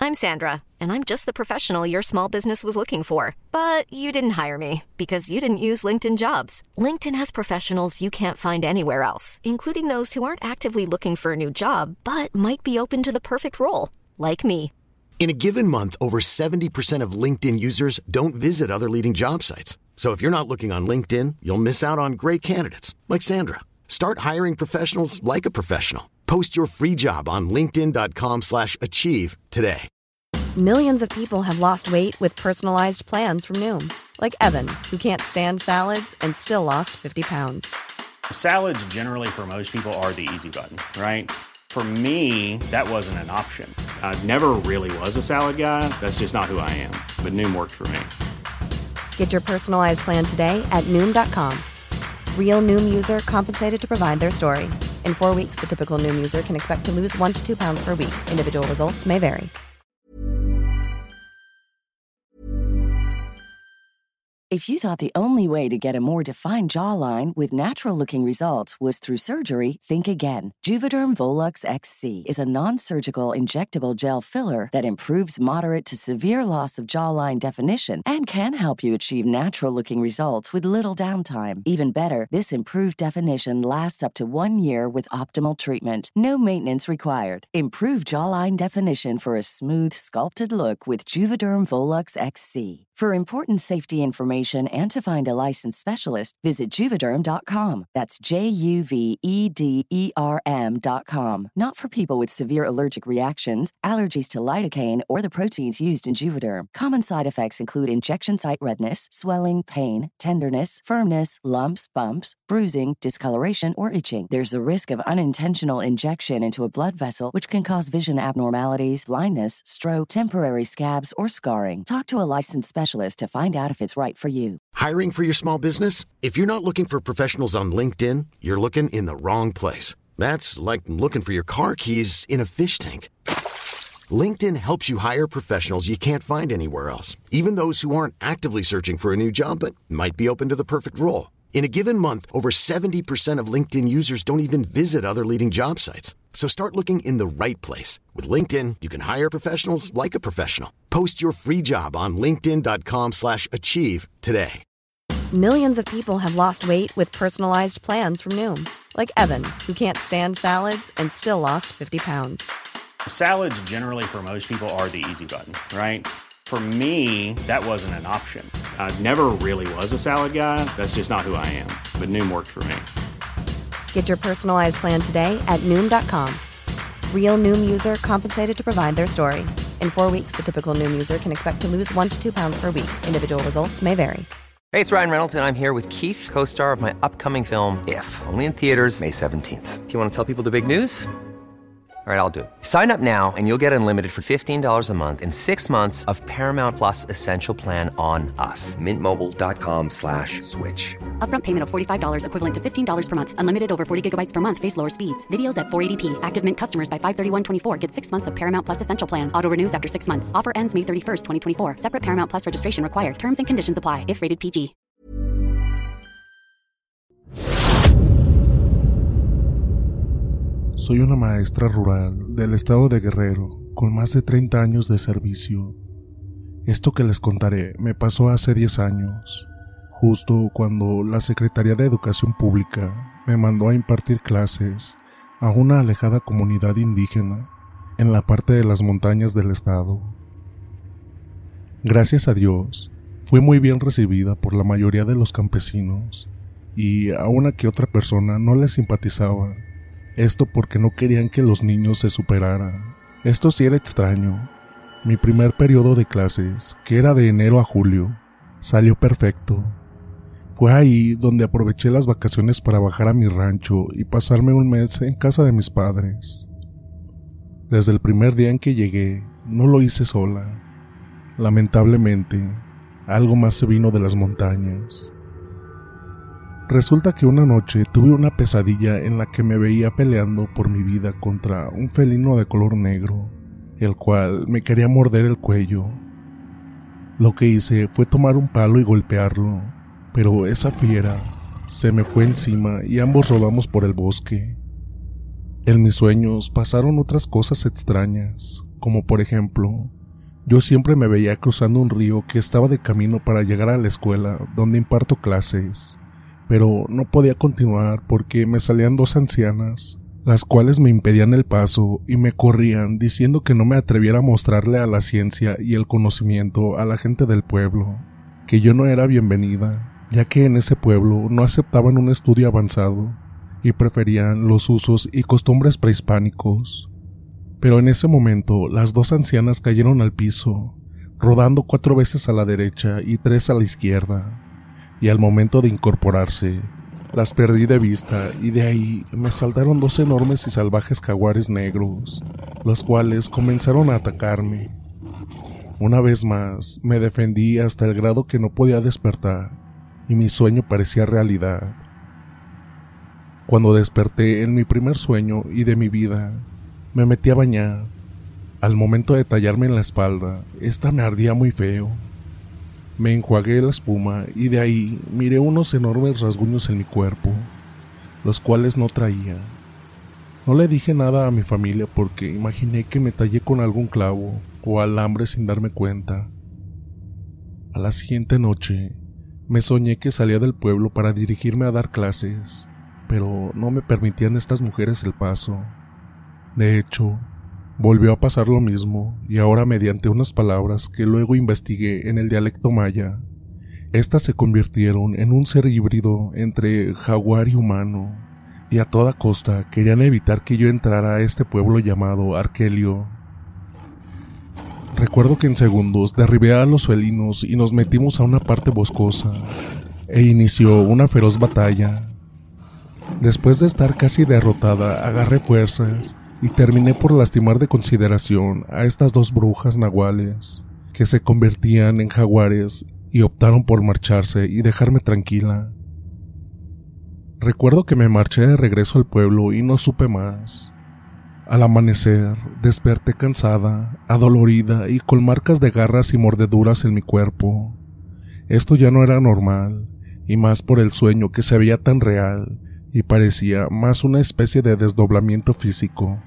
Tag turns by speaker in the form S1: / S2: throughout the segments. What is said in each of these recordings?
S1: I'm Sandra, and I'm just the professional your small business was looking for. But you didn't hire me because you didn't use LinkedIn Jobs. LinkedIn has professionals you can't find anywhere else, including those who aren't actively looking for a new job, but might be open to the perfect role, like me.
S2: In a given month, over 70% of LinkedIn users don't visit other leading job sites. So if you're not looking on LinkedIn, you'll miss out on great candidates like Sandra. Start hiring professionals like a professional. Post your free job on linkedin.com/achieve today.
S3: Millions of people have lost weight with personalized plans from Noom. Like Evan, who can't stand salads and still lost 50 pounds.
S4: Salads generally for most people are the easy button, right? For me, that wasn't an option. I never really was a salad guy. That's just not who I am. But Noom worked for me.
S3: Get your personalized plan today at Noom.com. Real Noom user compensated to provide their story. In 4 weeks, the typical Noom user can expect to lose 1 to 2 pounds per week. Individual results may vary.
S5: If you thought the only way to get a more defined jawline with natural-looking results was through surgery, think again. Juvederm Volux XC is a non-surgical injectable gel filler that improves moderate to severe loss of jawline definition and can help you achieve natural-looking results with little downtime. Even better, this improved definition lasts up to 1 year with optimal treatment. No maintenance required. Improve jawline definition for a smooth, sculpted look with Juvederm Volux XC. For important safety information and to find a licensed specialist, visit Juvederm.com. That's Juvederm.com. Not for people with severe allergic reactions, allergies to lidocaine, or the proteins used in Juvederm. Common side effects include injection site redness, swelling, pain, tenderness, firmness, lumps, bumps, bruising, discoloration, or itching. There's a risk of unintentional injection into a blood vessel, which can cause vision abnormalities, blindness, stroke, temporary scabs, or scarring. Talk to a licensed specialist to find out if it's right for you.
S2: Hiring for your small business? If you're not looking for professionals on LinkedIn, you're looking in the wrong place. That's like looking for your car keys in a fish tank. LinkedIn helps you hire professionals you can't find anywhere else, even those who aren't actively searching for a new job but might be open to the perfect role. In a given month, over 70% of LinkedIn users don't even visit other leading job sites. So start looking in the right place. With LinkedIn, you can hire professionals like a professional. Post your free job on linkedin.com/achieve today.
S3: Millions of people have lost weight with personalized plans from Noom. Like Evan, who can't stand salads and still lost 50 pounds.
S4: Salads generally for most people are the easy button, right? For me, that wasn't an option. I never really was a salad guy. That's just not who I am. But Noom worked for me.
S3: Get your personalized plan today at Noom.com. Real Noom user compensated to provide their story. In 4 weeks, the typical Noom user can expect to lose 1 to 2 pounds per week. Individual results may vary.
S6: Hey, it's Ryan Reynolds, and I'm here with Keith, co-star of my upcoming film, If, only in theaters May 17th. Do you want to tell people the big news? All right, I'll do it. Sign up now and you'll get unlimited for $15 a month and 6 months of Paramount Plus Essential Plan on us. MintMobile.com/switch.
S7: Upfront payment of $45 equivalent to $15 per month. Unlimited over 40 gigabytes per month. Face lower speeds. Videos at 480p. Active Mint customers by 531.24 get 6 months of Paramount Plus Essential Plan. Auto renews after 6 months. Offer ends May 31st, 2024. Separate Paramount Plus registration required. Terms and conditions apply if rated PG.
S8: Soy una maestra rural del estado de Guerrero, con más de 30 años de servicio. Esto que les contaré me pasó hace 10 años, justo cuando la Secretaría de Educación Pública me mandó a impartir clases a una alejada comunidad indígena en la parte de las montañas del estado. Gracias a Dios, fui muy bien recibida por la mayoría de los campesinos, y a una que otra persona no les simpatizaba. Esto porque no querían que los niños se superaran. Esto sí era extraño. Mi primer periodo de clases, que era de enero a julio, salió perfecto. Fue ahí donde aproveché las vacaciones para bajar a mi rancho y pasarme un mes en casa de mis padres. Desde el primer día en que llegué, no lo hice sola. Lamentablemente, algo más se vino de las montañas. Resulta que una noche tuve una pesadilla en la que me veía peleando por mi vida contra un felino de color negro, el cual me quería morder el cuello. Lo que hice fue tomar un palo y golpearlo, pero esa fiera se me fue encima y ambos rodamos por el bosque. En mis sueños pasaron otras cosas extrañas, como por ejemplo, Yo siempre me veía cruzando un río que estaba de camino para llegar a la escuela donde imparto clases, pero no podía continuar porque me salían 2 ancianas, las cuales me impedían el paso y me corrían diciendo que no me atreviera a mostrarle a la ciencia y el conocimiento a la gente del pueblo, que yo no era bienvenida, ya que en ese pueblo no aceptaban un estudio avanzado y preferían los usos y costumbres prehispánicos. Pero en ese momento las 2 ancianas cayeron al piso, rodando 4 veces a la derecha y 3 a la izquierda, y al momento de incorporarse, las perdí de vista y de ahí me saltaron 2 enormes y salvajes jaguares negros, los cuales comenzaron a atacarme. Una vez más, me defendí hasta el grado que no podía despertar, y mi sueño parecía realidad. Cuando desperté en mi primer sueño y de mi vida, me metí a bañar. Al momento de tallarme en la espalda, esta me ardía muy feo. Me enjuagué la espuma y de ahí miré unos enormes rasguños en mi cuerpo, los cuales no traía. No le dije nada a mi familia porque imaginé que me tallé con algún clavo o alambre sin darme cuenta. A la siguiente noche, me soñé que salía del pueblo para dirigirme a dar clases, pero no me permitían estas mujeres el paso. De hecho, volvió a pasar lo mismo, y ahora mediante unas palabras que luego investigué en el dialecto maya, estas se convirtieron en un ser híbrido entre jaguar y humano, y a toda costa querían evitar que yo entrara a este pueblo llamado Arkelio. Recuerdo que en segundos derribé a los felinos y nos metimos a una parte boscosa, e inició una feroz batalla. Después de estar casi derrotada, agarré fuerzas y terminé por lastimar de consideración a estas 2 brujas nahuales, que se convertían en jaguares y optaron por marcharse y dejarme tranquila. Recuerdo que me marché de regreso al pueblo y no supe más. Al amanecer, desperté cansada, adolorida y con marcas de garras y mordeduras en mi cuerpo. Esto ya no era normal, y más por el sueño que se veía tan real y parecía más una especie de desdoblamiento físico.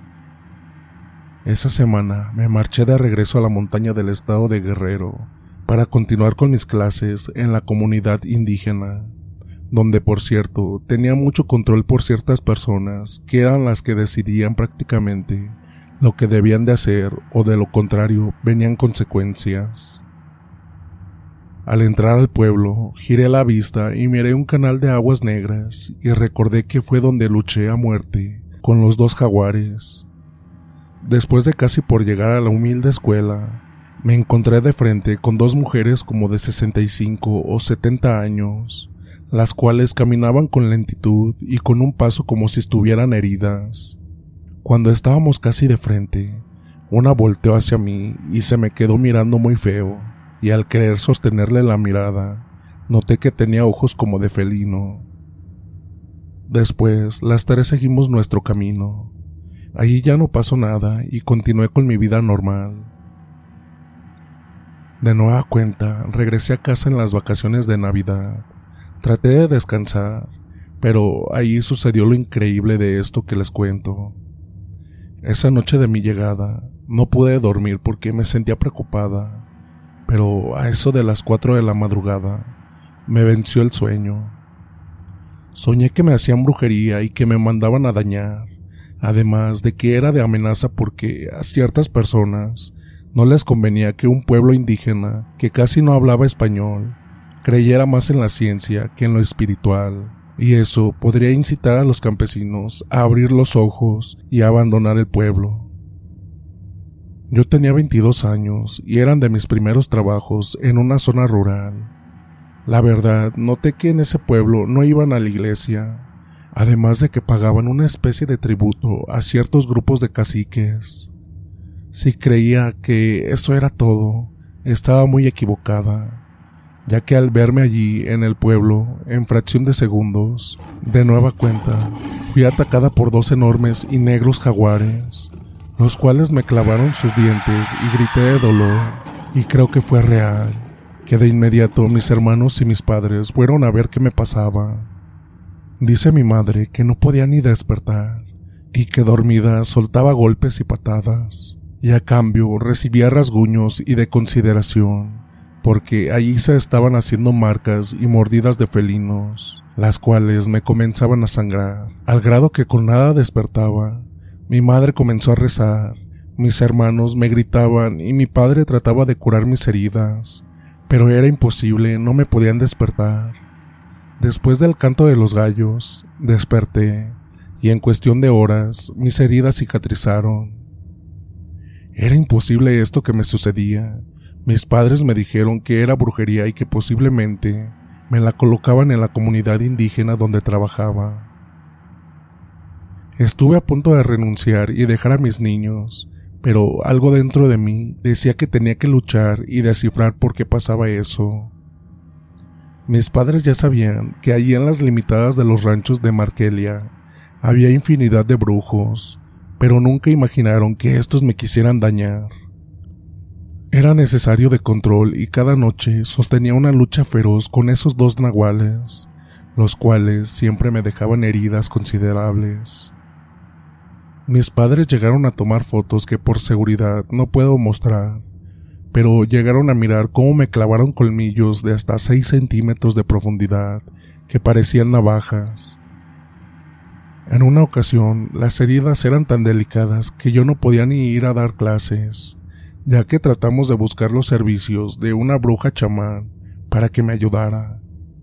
S8: Esa semana me marché de regreso a la montaña del estado de Guerrero para continuar con mis clases en la comunidad indígena, donde por cierto tenía mucho control por ciertas personas que eran las que decidían prácticamente lo que debían de hacer o de lo contrario venían consecuencias. Al entrar al pueblo, giré la vista y miré un canal de aguas negras y recordé que fue donde luché a muerte con los 2 jaguares. Después de casi por llegar a la humilde escuela, me encontré de frente con 2 mujeres como de 65 o 70 años, las cuales caminaban con lentitud y con un paso como si estuvieran heridas. Cuando estábamos casi de frente, una volteó hacia mí y se me quedó mirando muy feo, y al querer sostenerle la mirada, noté que tenía ojos como de felino. Después, las 3 seguimos nuestro camino. Allí ya no pasó nada y continué con mi vida normal. De nueva cuenta, regresé a casa en las vacaciones de Navidad. Traté de descansar, pero ahí sucedió lo increíble de esto que les cuento. Esa noche de mi llegada, no pude dormir porque me sentía preocupada, pero a eso de las 4 de la madrugada, me venció el sueño. Soñé que me hacían brujería y que me mandaban a dañar. Además de que era de amenaza porque a ciertas personas no les convenía que un pueblo indígena que casi no hablaba español creyera más en la ciencia que en lo espiritual, y eso podría incitar a los campesinos a abrir los ojos y a abandonar el pueblo. Yo tenía 22 años y eran de mis primeros trabajos en una zona rural. La verdad, noté que en ese pueblo no iban a la iglesia, además de que pagaban una especie de tributo a ciertos grupos de caciques. Si creía que eso era todo, estaba muy equivocada, ya que al verme allí en el pueblo, en fracción de segundos, de nueva cuenta, fui atacada por 2 enormes y negros jaguares, los cuales me clavaron sus dientes y grité de dolor, y creo que fue real, que de inmediato mis hermanos y mis padres fueron a ver qué me pasaba. Dice mi madre que no podía ni despertar y que dormida soltaba golpes y patadas, y a cambio recibía rasguños y de consideración, porque allí se estaban haciendo marcas y mordidas de felinos, las cuales me comenzaban a sangrar, al grado que con nada despertaba. Mi madre comenzó a rezar, mis hermanos me gritaban y mi padre trataba de curar mis heridas, pero era imposible, no me podían despertar. Después del canto de los gallos, desperté, y en cuestión de horas mis heridas cicatrizaron. Era imposible esto que me sucedía. Mis padres me dijeron que era brujería y que posiblemente me la colocaban en la comunidad indígena donde trabajaba. Estuve a punto de renunciar y dejar a mis niños, pero algo dentro de mí decía que tenía que luchar y descifrar por qué pasaba eso. Mis padres ya sabían que allí en las limitadas de los ranchos de Markelia había infinidad de brujos, pero nunca imaginaron que estos me quisieran dañar. Era necesario de control y cada noche sostenía una lucha feroz con esos dos nahuales, los cuales siempre me dejaban heridas considerables. Mis padres llegaron a tomar fotos que por seguridad no puedo mostrar, pero llegaron a mirar cómo me clavaron colmillos de hasta 6 centímetros de profundidad que parecían navajas. En una ocasión, las heridas eran tan delicadas que yo no podía ni ir a dar clases, ya que tratamos de buscar los servicios de una bruja chamán para que me ayudara.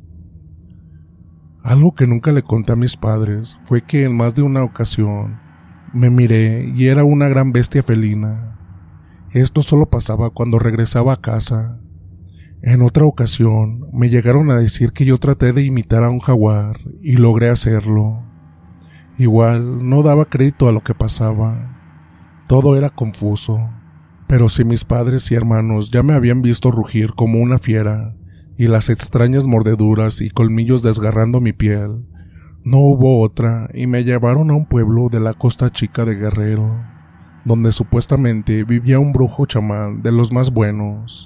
S8: Algo que nunca le conté a mis padres fue que en más de una ocasión me miré y era una gran bestia felina. Esto solo pasaba cuando regresaba a casa. En otra ocasión me llegaron a decir que yo traté de imitar a un jaguar y logré hacerlo. Igual no daba crédito a lo que pasaba. Todo era confuso, pero si mis padres y hermanos ya me habían visto rugir como una fiera y las extrañas mordeduras y colmillos desgarrando mi piel, no hubo otra y me llevaron a un pueblo de la Costa Chica de Guerrero, donde supuestamente vivía un brujo chamán de los más buenos.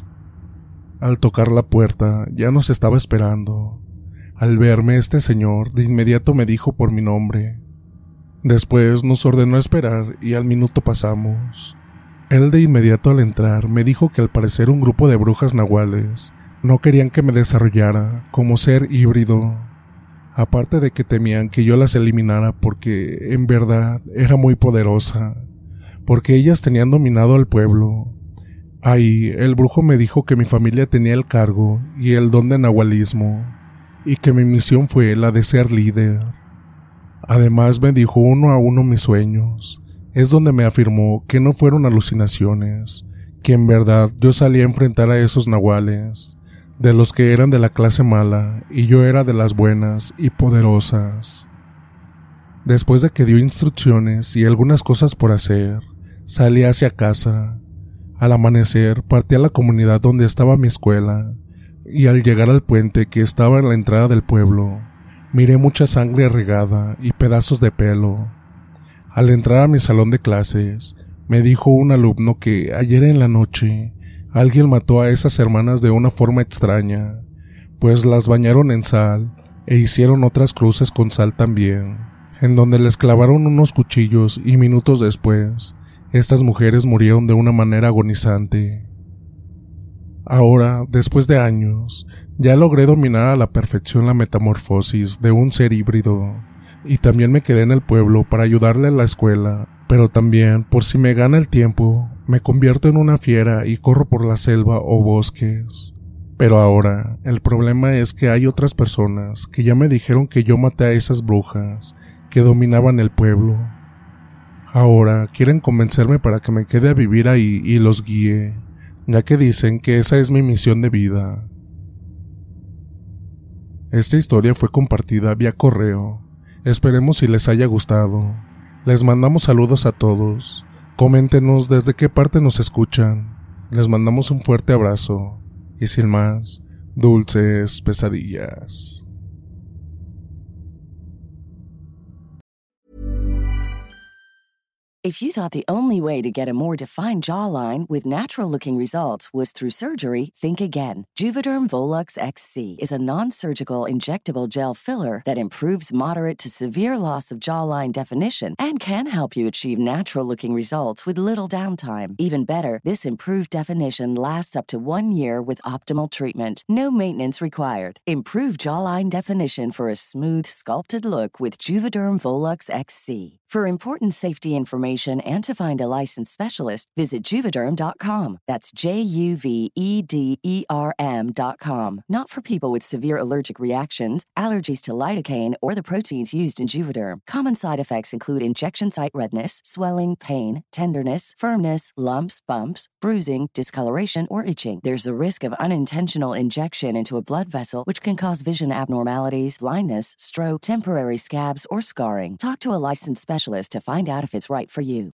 S8: Al tocar la puerta ya nos estaba esperando. Al verme este señor de inmediato me dijo por mi nombre. Después nos ordenó esperar y al minuto pasamos. Él de inmediato al entrar me dijo que al parecer un grupo de brujas nahuales no querían que me desarrollara como ser híbrido, aparte de que temían que yo las eliminara porque en verdad era muy poderosa, porque ellas tenían dominado al pueblo. Ahí el brujo me dijo que mi familia tenía el cargo y el don de nahualismo, y que mi misión fue la de ser líder. Además me dijo uno a uno mis sueños, es donde me afirmó que no fueron alucinaciones, que en verdad yo salí a enfrentar a esos nahuales, de los que eran de la clase mala y yo era de las buenas y poderosas. Después de que dio instrucciones y algunas cosas por hacer, salí hacia casa. Al amanecer partí a la comunidad donde estaba mi escuela, y al llegar al puente que estaba en la entrada del pueblo, miré mucha sangre regada y pedazos de pelo. Al entrar a mi salón de clases, me dijo un alumno que ayer en la noche alguien mató a esas hermanas de una forma extraña, pues las bañaron en sal e hicieron otras cruces con sal también, en donde les clavaron unos cuchillos y minutos después, estas mujeres murieron de una manera agonizante. Ahora, después de años, ya logré dominar a la perfección la metamorfosis de un ser híbrido, y también me quedé en el pueblo para ayudarle a la escuela, pero también, por si me gana el tiempo, me convierto en una fiera y corro por la selva o bosques. Pero ahora, el problema es que hay otras personas que ya me dijeron que yo maté a esas brujas que dominaban el pueblo. Ahora quieren convencerme para que me quede a vivir ahí y los guíe, ya que dicen que esa es mi misión de vida. Esta historia fue compartida vía correo. Esperemos si les haya gustado. Les mandamos saludos a todos. Coméntenos desde qué parte nos escuchan. Les mandamos un fuerte abrazo. Y sin más, dulces pesadillas.
S5: If you thought the only way to get a more defined jawline with natural-looking results was through surgery, think again. Juvederm Volux XC is a non-surgical injectable gel filler that improves moderate to severe loss of jawline definition and can help you achieve natural-looking results with little downtime. Even better, this improved definition lasts up to 1 year with optimal treatment. No maintenance required. Improve jawline definition for a smooth, sculpted look with Juvederm Volux XC. For important safety information and to find a licensed specialist, visit Juvederm.com. That's JUVEDERM.com. Not for people with severe allergic reactions, allergies to lidocaine, or the proteins used in Juvederm. Common side effects include injection site redness, swelling, pain, tenderness, firmness, lumps, bumps, bruising, discoloration, or itching. There's a risk of unintentional injection into a blood vessel, which can cause vision abnormalities, blindness, stroke, temporary scabs, or scarring. Talk to a licensed specialist to find out if it's right for you.